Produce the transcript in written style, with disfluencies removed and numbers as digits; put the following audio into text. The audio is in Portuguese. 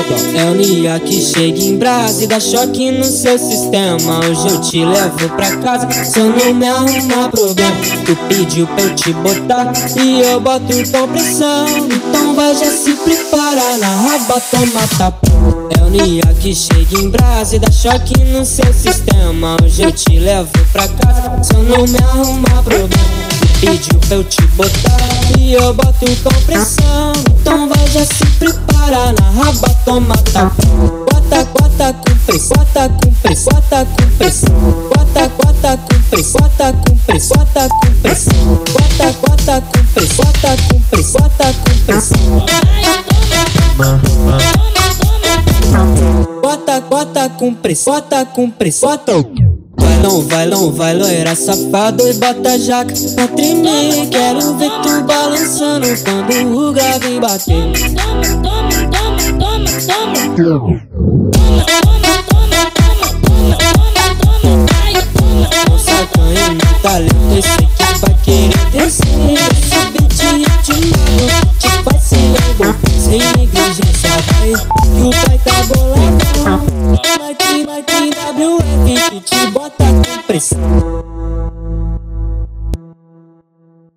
É o Nia que chega em brasa e dá choque no seu sistema. Hoje eu te levo pra casa, só não me arruma problema. Tu pediu pra eu te botar e eu boto com pressão. Então vai já se preparar, na raba toma tapa. É o Nia que chega em brasa e dá choque no seu sistema. Hoje eu te levo pra casa, só não me arruma problema. Pediu pra eu te botar e eu boto com pressão. Então vai já se preparar, na raba toma tapa. Bota com pressão, bota com pressão, bota com pressão. Bota com pressão, bota com pressão, bota com pressão. Bota com pressão, bota com pressão, bota com pressão. Bota com pressão, bota com pressão. Vai loira safado e bota a jaca pra tremer. Quero ver tu balançando quando o grave bater. Com sacanha no talento, eu sei que vai querer descer. Esse beat é de mago, te faz se envolver. Sem negligência vai, que o pai tá boladão. Like WF que te bota com pressão.